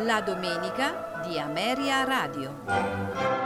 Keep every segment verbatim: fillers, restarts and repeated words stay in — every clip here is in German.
La domenica di Ameria Radio.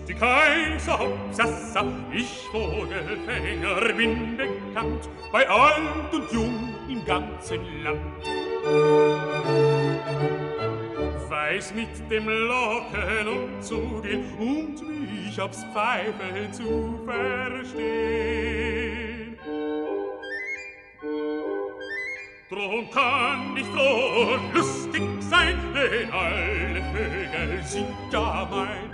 die Kaiser Hopsassa, ich Vogelfänger bin bekannt, bei alt und jung im ganzen Land. Weiß mit dem Locken umzugehen und mich aufs Pfeifen zu verstehen. Drum kann ich froh und lustig sein, denn alle Vögel sind ja mein.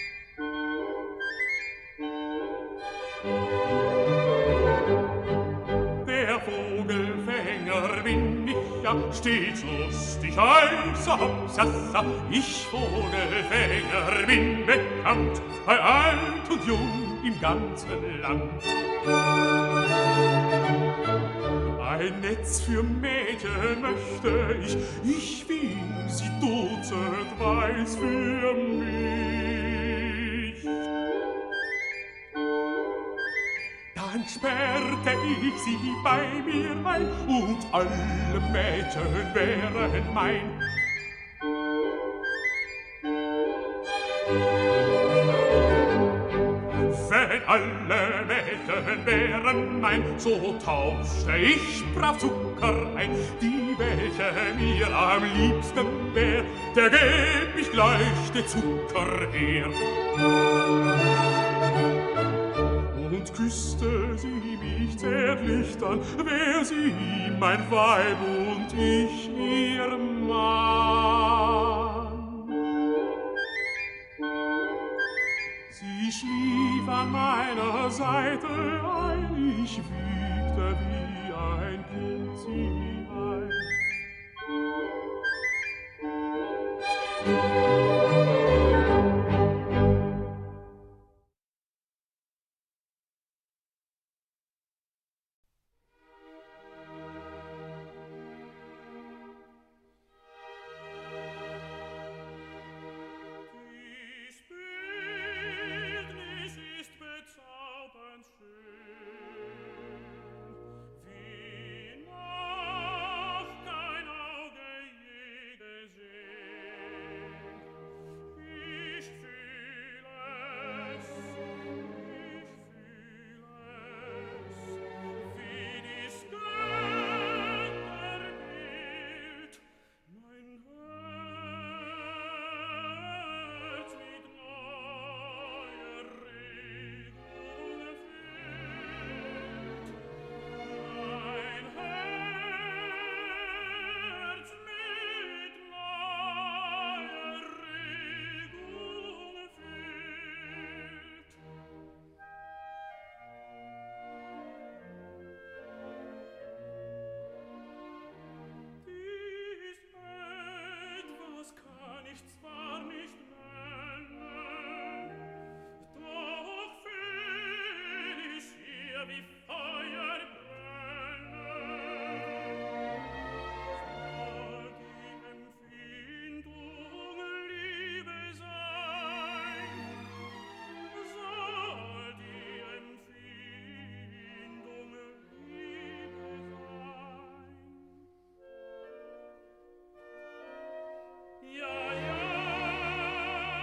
Der Vogelfänger bin ich ja stets lustig, heißer Hopsassa, ich Vogelfänger bin bekannt, bei alt und jung im ganzen Land. Ein Netz für Mädchen möchte ich, ich will sie dutzend weiß für mich. Dann sperrte ich sie bei mir ein und alle Mädchen wären mein. Wenn alle Mädchen wären mein, so tauschte ich brav Zucker ein. Die, welche mir am liebsten wär, der gäb ich gleich den Zucker her. Und küsste sie mich zärtlich, dann wär sie mein Weib und ich ihr Mann. Sie schlief an meiner Seite ein, ich wiegte wie ein Kind sie ein.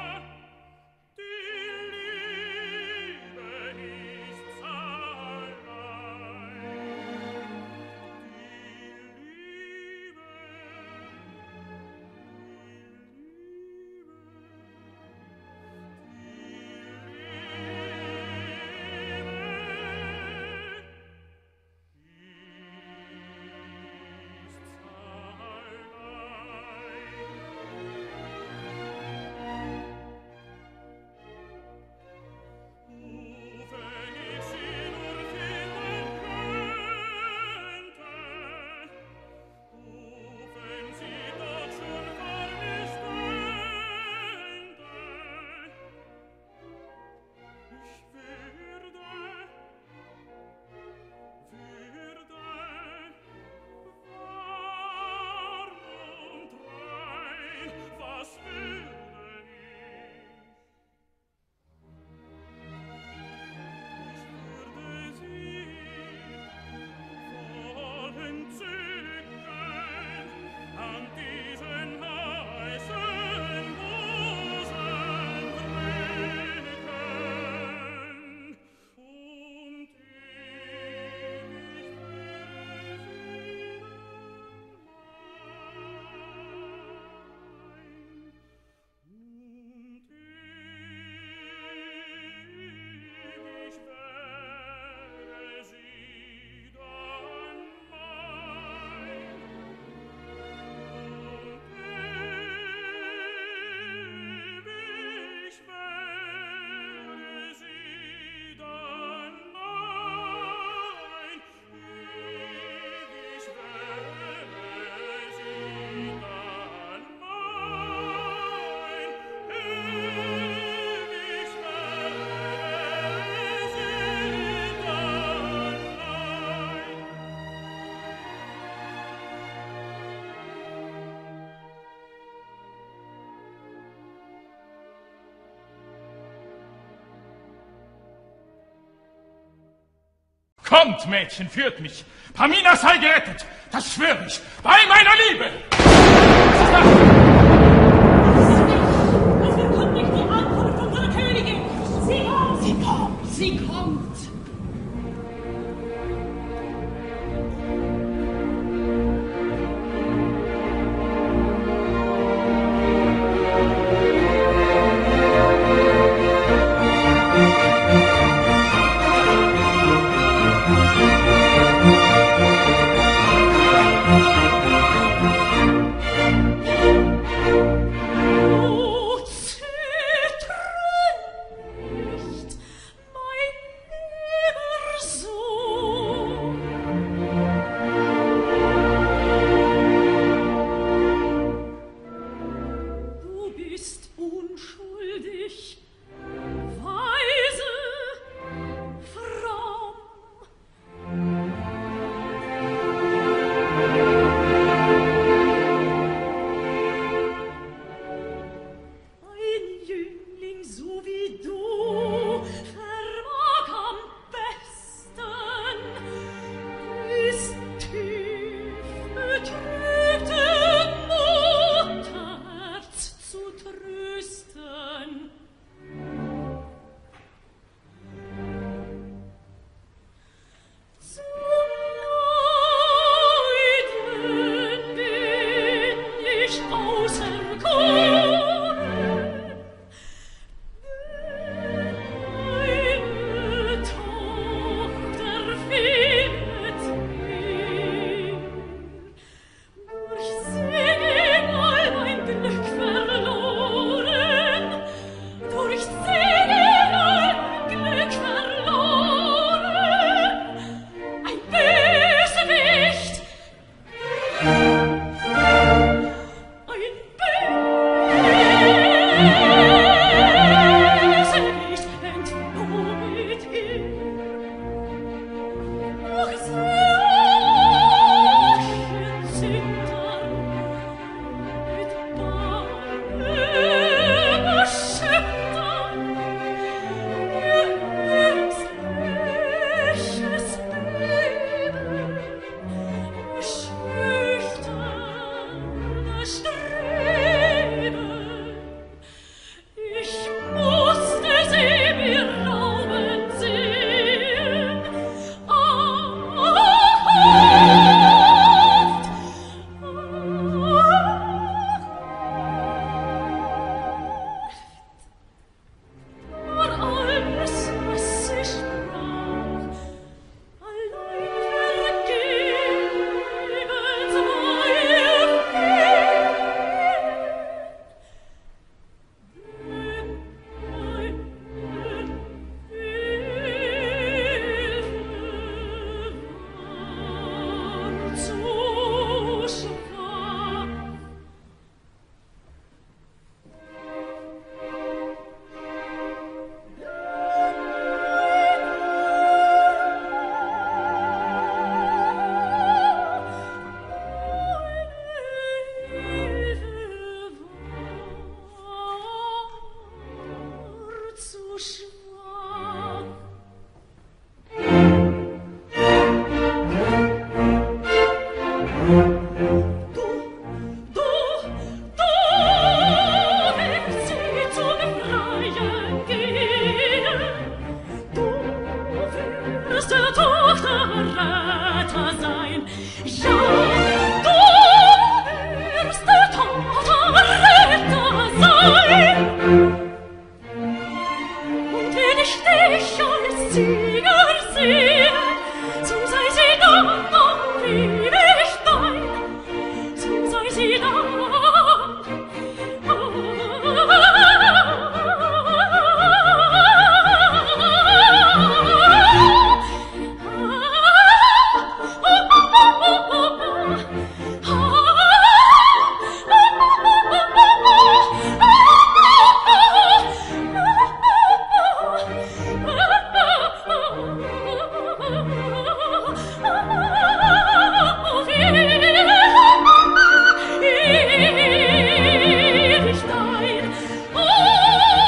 Die Liebe ist allein. Kommt, Mädchen, führt mich. Pamina sei gerettet, das schwör ich, bei meiner Liebe. Was ist das? Es verkündigt die Ankunft unserer Königin. Sie kommt. Sie kommt. Sie kommt.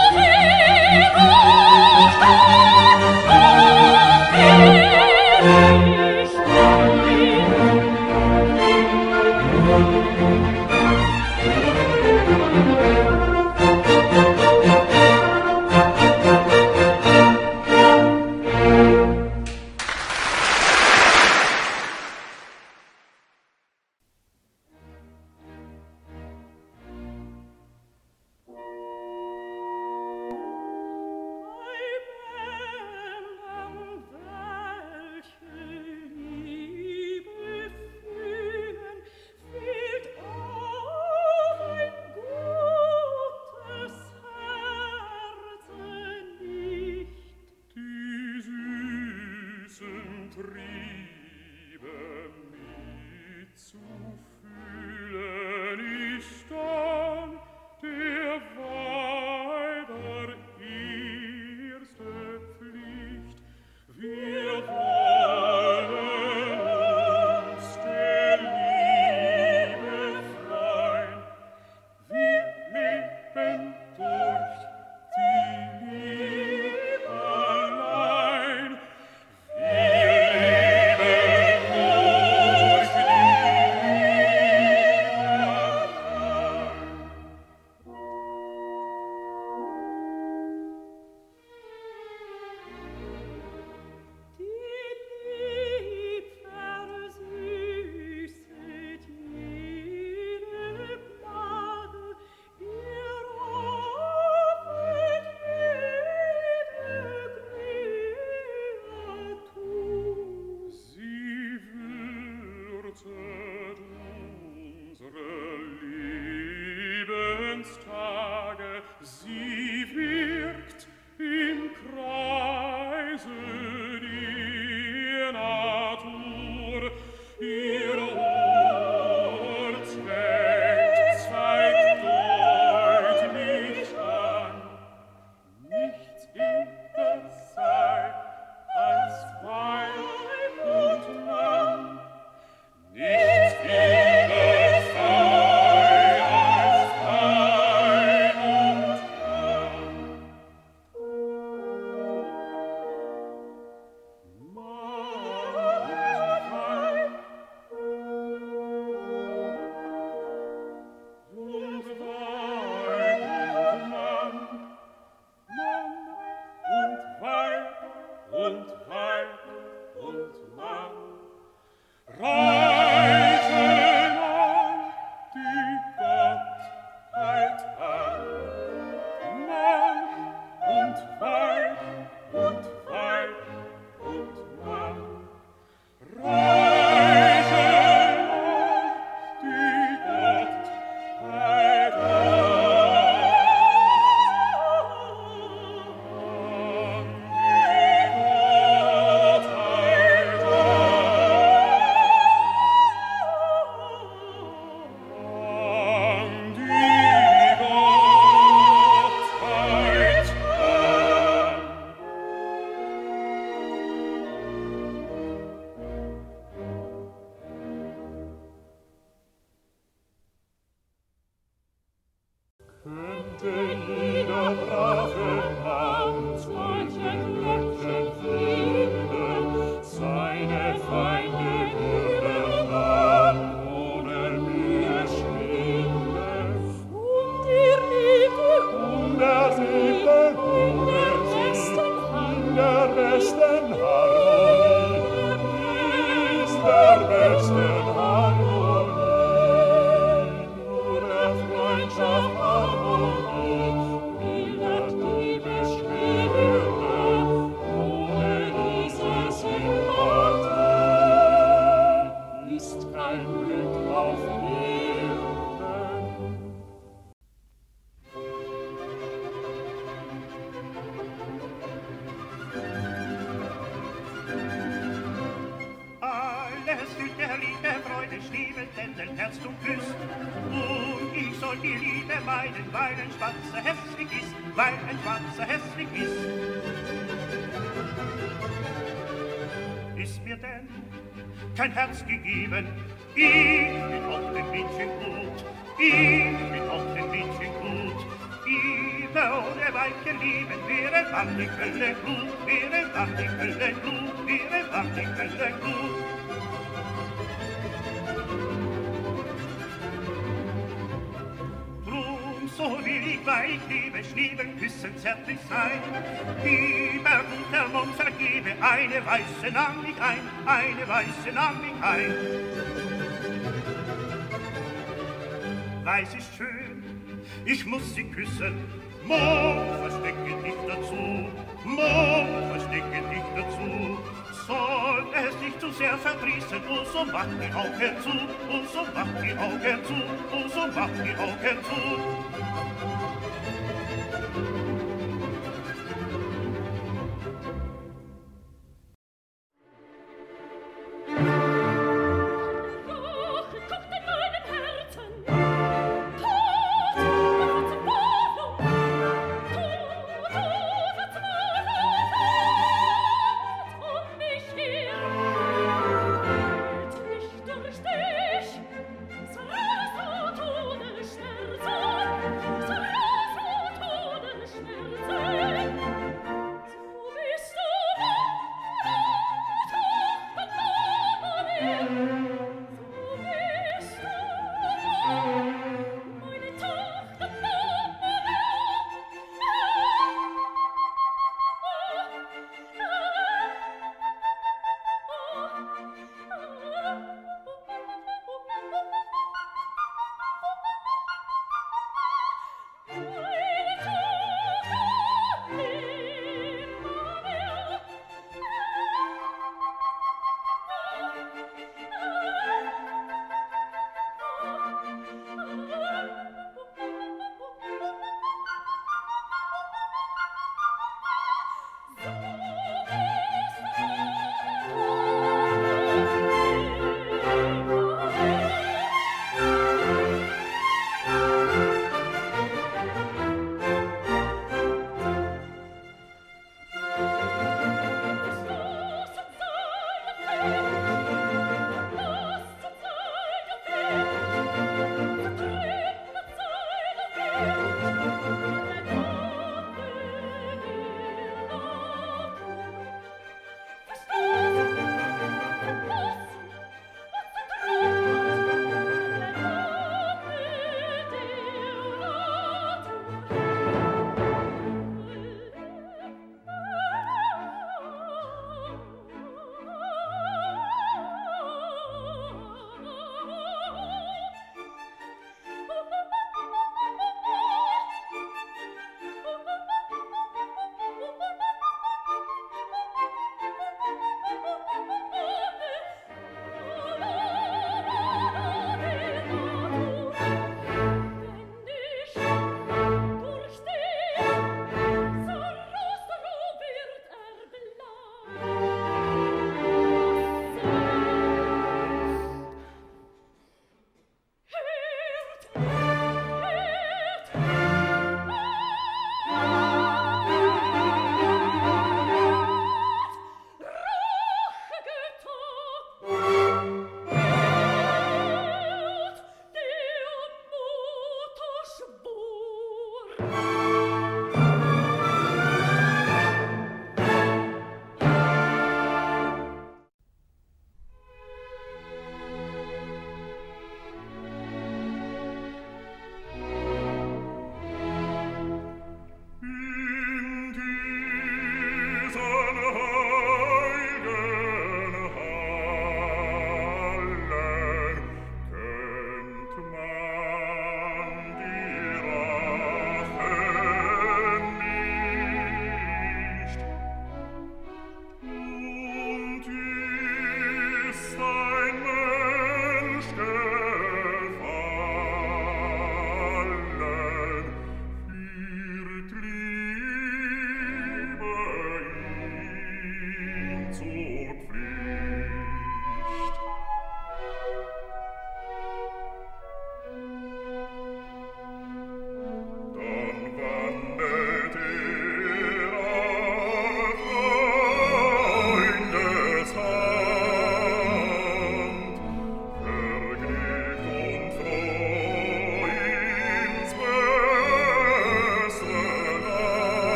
Thank you. Kein Herz gegeben, ich bin auch dem Mädchen gut, ich bin auch dem Mädchen gut. Liebe ohne Weiche lieben, wäre wann die Hölle gut, wäre wann die Hölle gut, wäre wann die Hölle gut. Drum so will ich, weil ich liebe, schlieben, küssen, zärtlich sein. Lieber guter Mund, vergebe, eine Weiße nahm mich ein, eine Weiße nahm mich ein. Weiß ist schön, ich muss sie küssen, Mond, verstecke dich dazu, Mond, verstecke dich dazu. Soll es nicht zu sehr verdrießen, oh so mach die Augen zu, oh so mach die Augen zu, oh so mach die Augen zu.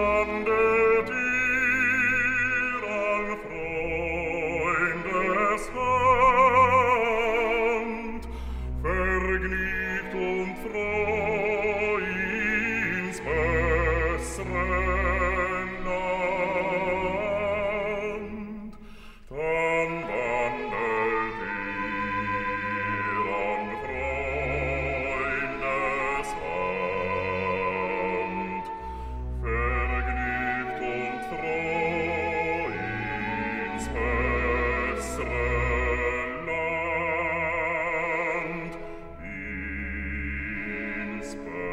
wandelt ihr an Freundeshand, vergnügt und froh ins bessere Land. Dann wandelt ihr an Freundeshand, vergnügt und froh ins bessere Land, ins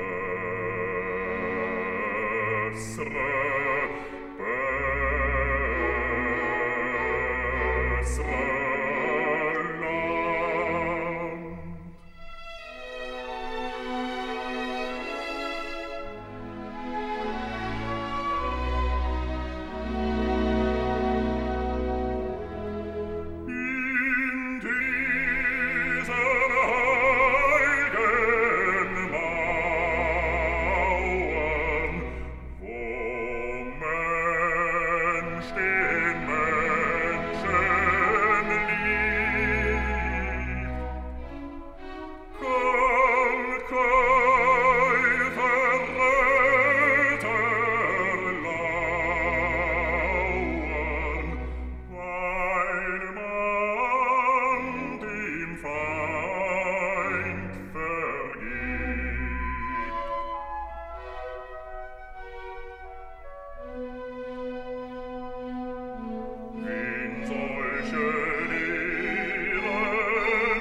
bessere, bessere Land. In diesen heiligen Mauern, wo Mensch den Menschen liebt, kann kein Verräter lauern, weil man dem Feind vergibt. Wen solche Lehren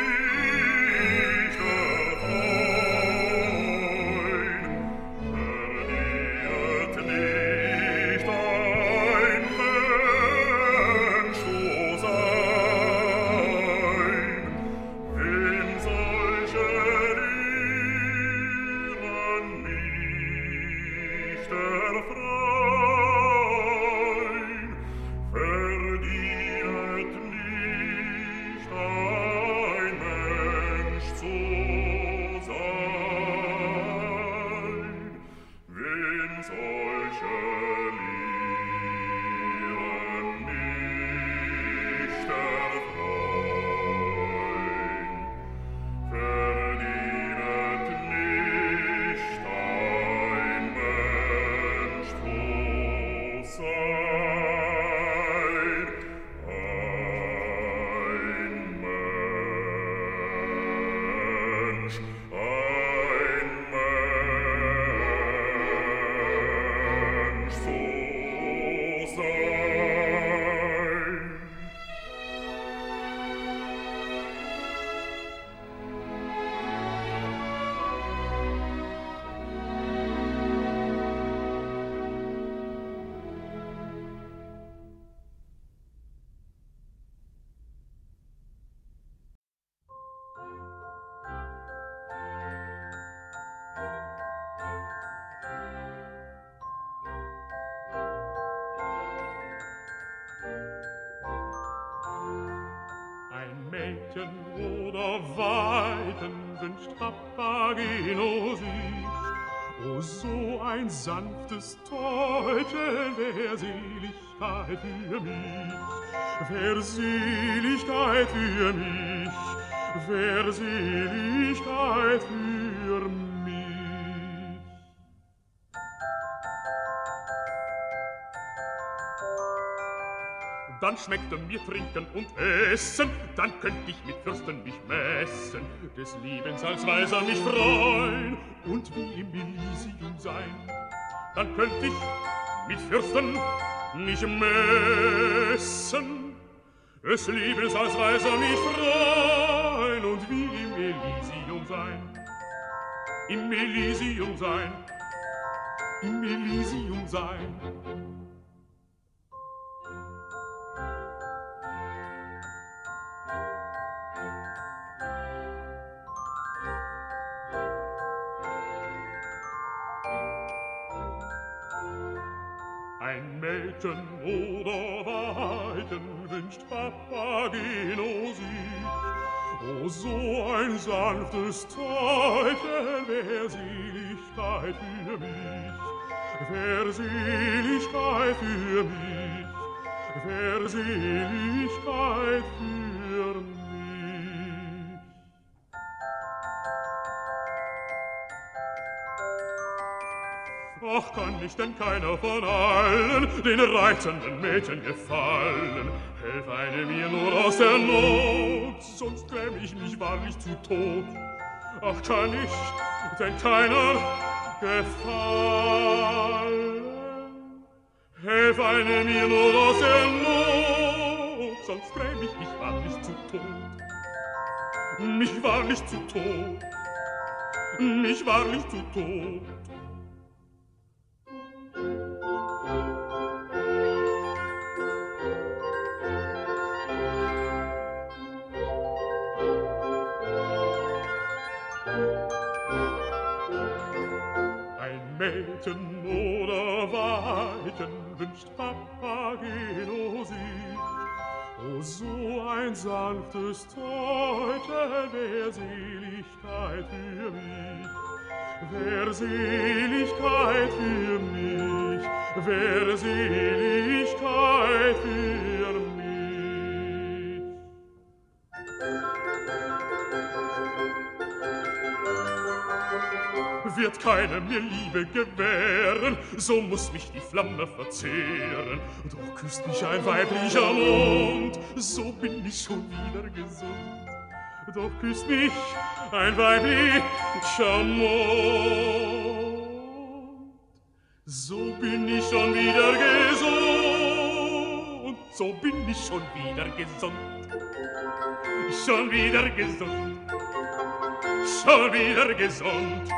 nicht erfreuen, verdient nicht ein Mensch zu sein. Wen solche Lehren nicht erfreuen, verdient nicht ein Mensch zu sein. Wen solche Lehren nicht erfreuen, verdient nicht ein Mensch zu sein. Ein Mensch, ein Mensch zu sein. Ein Mädchen oder Weiden wünscht Papageno sich. O, so ein sanftes Täubchen, wär Seligkeit für mich, wär Seligkeit für mich, wär Seligkeit für mich. Dann schmeckte mir Trinken und Essen, dann könnt ich mit Fürsten mich messen, des Lebens als Weiser mich freuen und wie im Elysium sein. Dann könnt ich mit Fürsten mich messen, des Lebens als Weiser mich freuen und wie im Elysium sein. Im Elysium sein, im Elysium sein. Ein Mädchen oder Weiden wünscht Papageno sich. O, so ein sanftes Täubchen wär Seligkeit für mich, wär Seligkeit für mich, wär Seligkeit für mich. Ach, kann ich denn keiner von allen den reizenden Mädchen gefallen? Helf eine mir nur aus der Not, sonst gräm ich mich wahrlich zu Tod. Ach, kann ich denn keiner gefallen? Helf eine mir nur aus der Not, sonst gräm ich mich wahrlich zu Tod. Mich wahrlich zu Tod, mich wahrlich zu Tod. Mädchen oder Weidchen wünscht Papageno sich. O, so ein sanftes Täubchen wär Seligkeit für mich, wär Seligkeit für mich, wär Seligkeit für mich. Wird keiner mir Liebe gewähren, so muß mich die Flamme verzehren. Doch küsst mich ein weiblicher Mund, so bin ich schon wieder gesund. Doch küsst mich ein weiblicher Mund, so bin ich schon wieder gesund. So bin ich schon wieder gesund. Schon wieder gesund. Schon wieder gesund.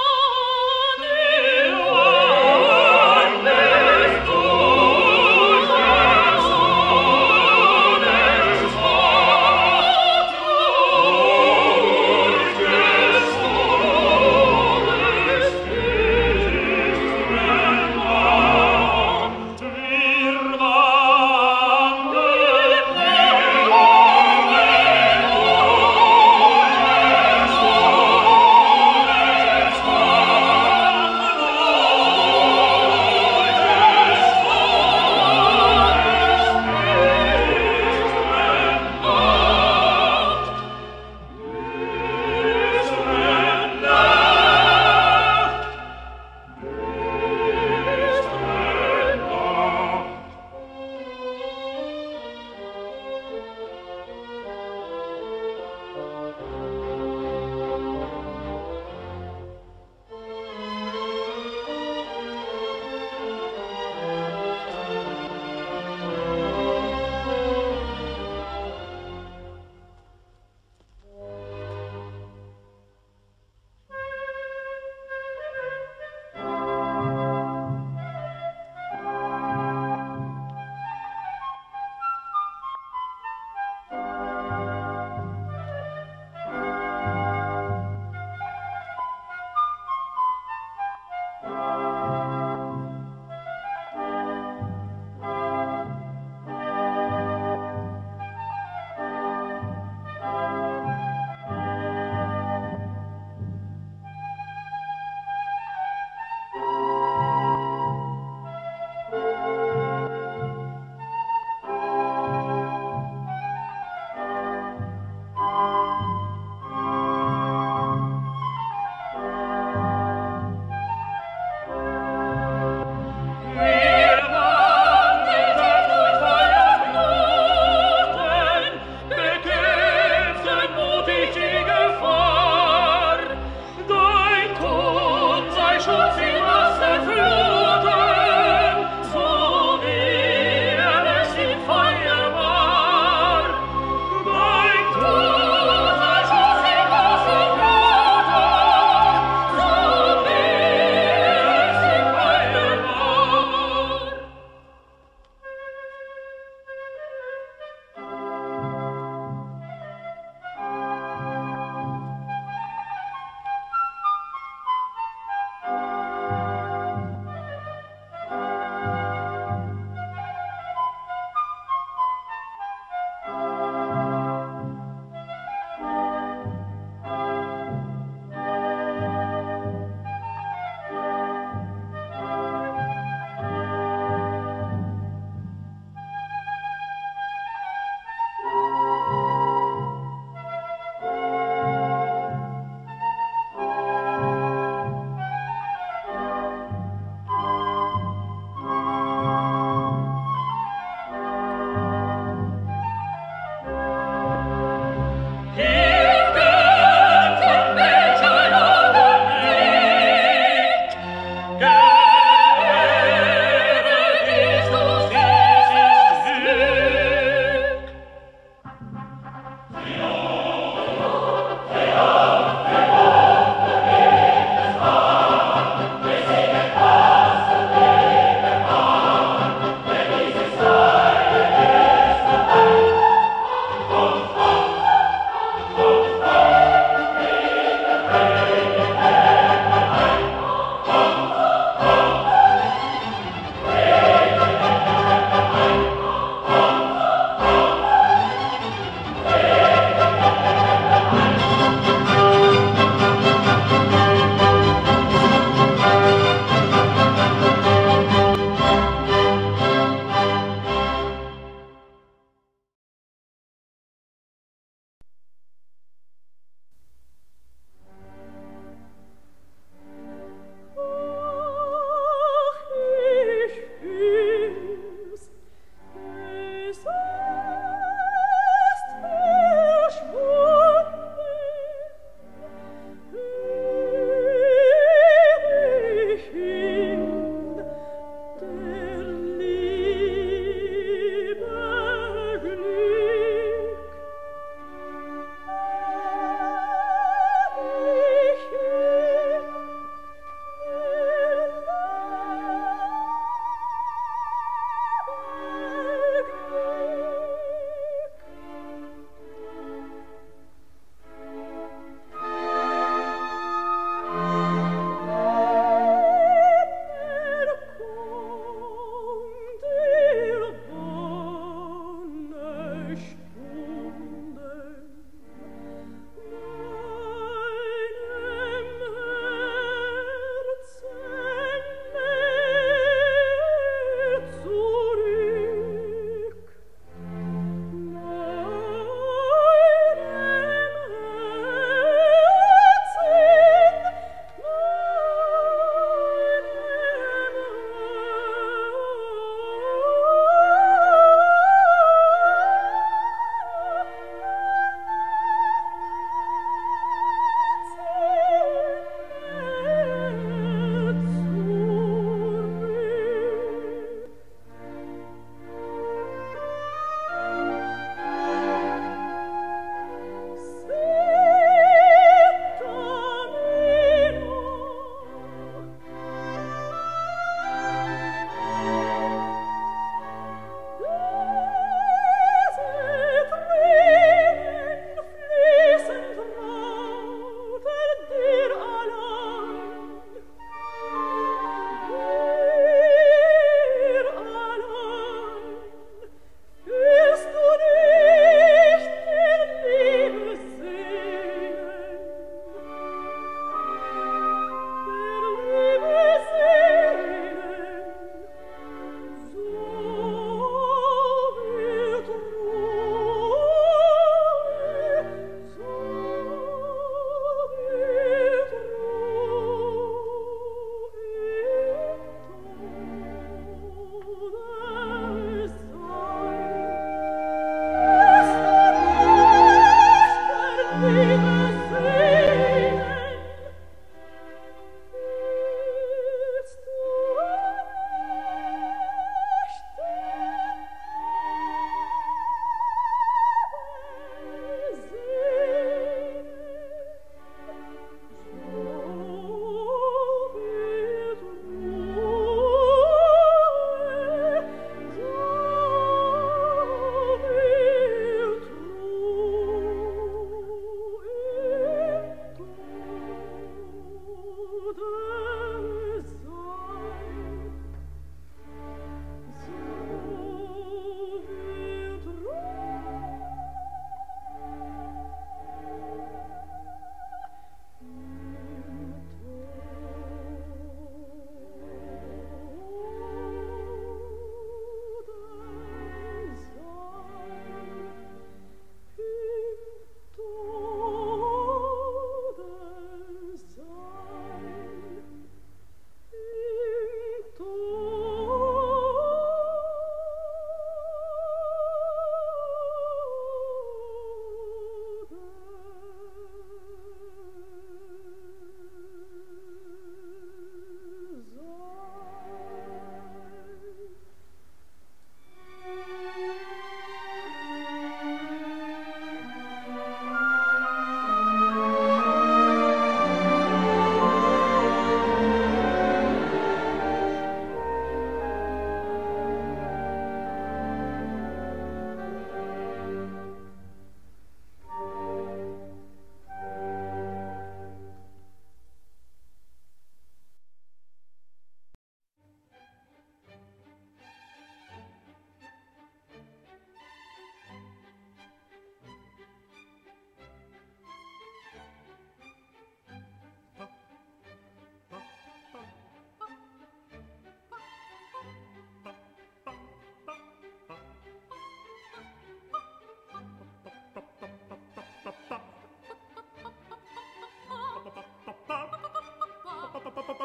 Oh,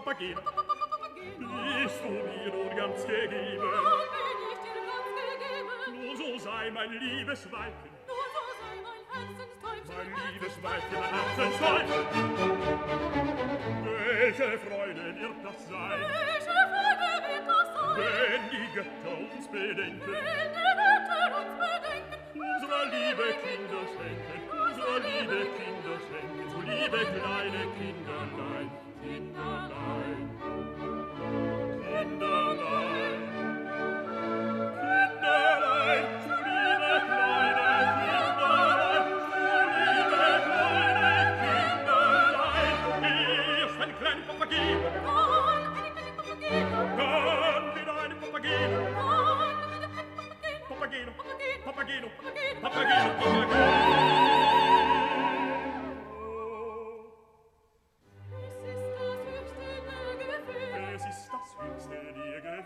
Papageno, bist du mir nun ganz gegeben? Nun bin ich dir ganz gegeben. Nun so sei mein liebes Weibchen, Nun so sei mein Herzenstäubchen, mein liebes Weibchen, mein Herzenstäubchen. Welche Freude wird das sein, Welche Freude wird das sein, wenn die Götter uns bedenken, wenn die Götter uns bedenken, unserer liebe Kinder schenken, unserer liebe Kinder schenken, so liebe kleine Kinderlein, Kinderlein, Kinderlein, Kinderlein, so liebe kleine Kinderlein, so liebe kleine Kinderlein. Erst ein kleiner Papageno, dann ein kleiner Papageno, dann wieder eine Papageno, dann wieder ein Papageno, Papageno, Papageno, Papageno, Papageno, Papageno. Es ist das höchste der Gefühle,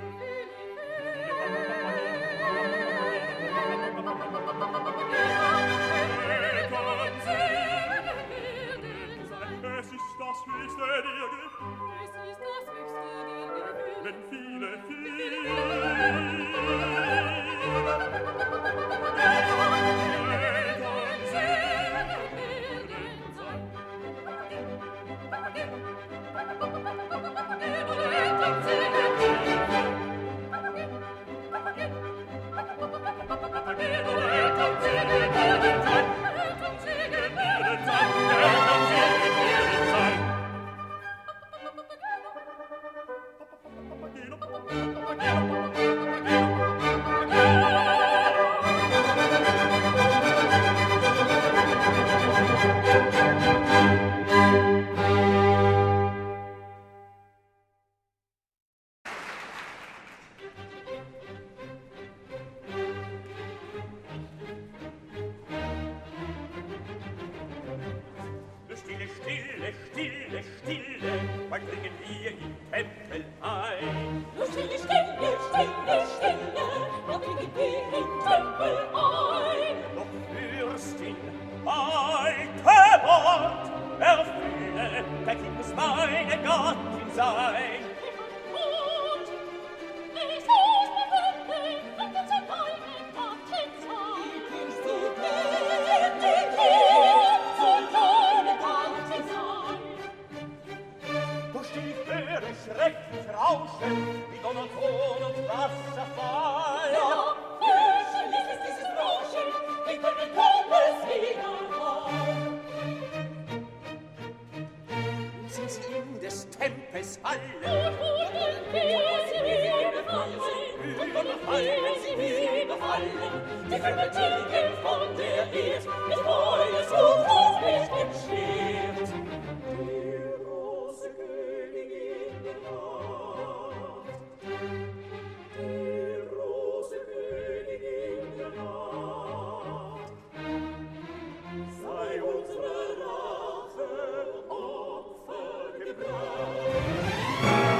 Es ist das höchste der Gefühle, es ist das höchste der Gefühle, wenn viele, viele Eltern sehen sein. Stille, stille, stille, stille, wann dringen wir im Tempel ein? Nur stille, stille, stille, stille, da kriegen wir im Tempel ein. Doch Fürstin, alte Wort, erfülle, der Kind muss meine Gattin sein. Und ich muss befinden, wenn du zu deinem Gattin sein. Willst du gehen, die Kind zu deinem Gattin sein? Doch still ich höre schrecklich rauschen, wie Donnerton und Wasserfall. Ja, fürchterlich ist dieses Rauschen, wie von den Tempelswiederhall. Sind sie in des Tempels Halle? Und wie sie mir gefallen, und wunderfallen sie mir gefallen, die Vermögen von der Erd, mit Feuers und auf mich entsteht. Die große Königin der Nacht, die große Königin der Nacht, sei unsere Rache Opfer gebracht.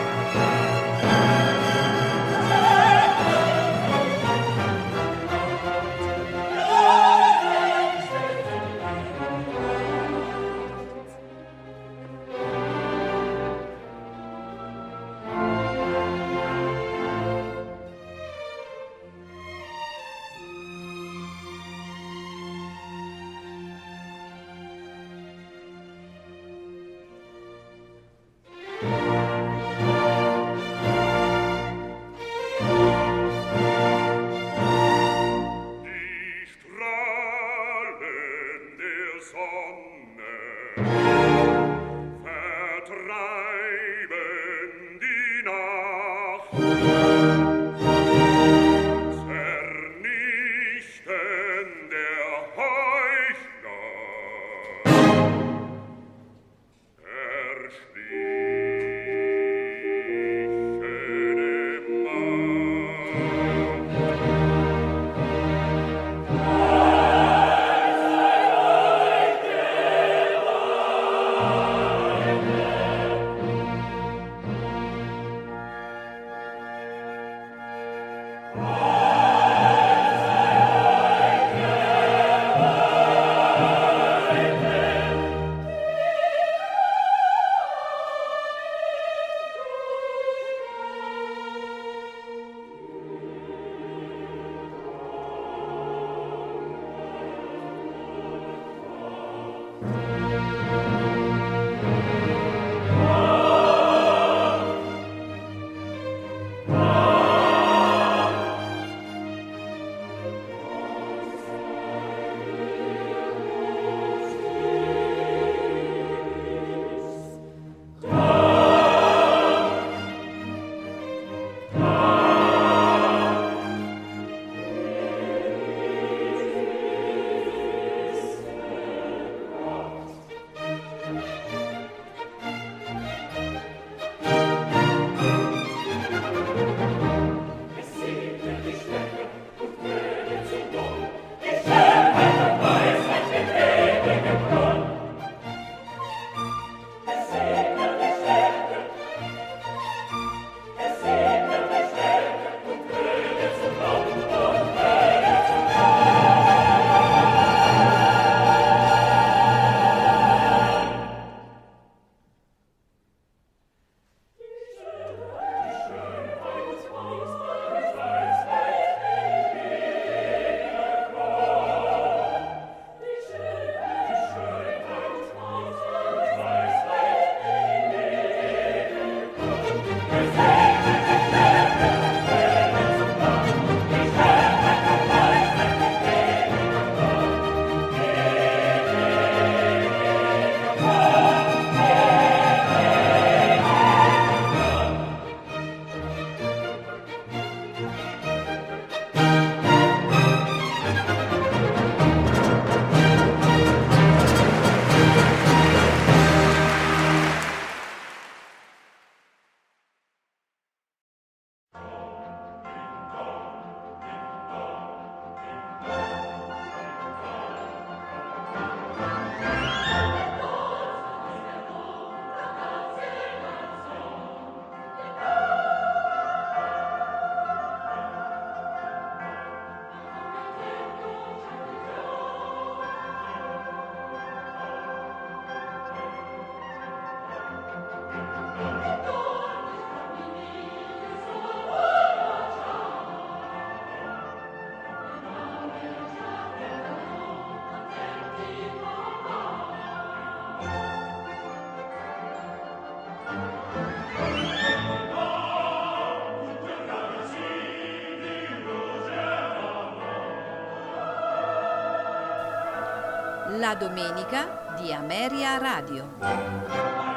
La domenica di Ameria Radio.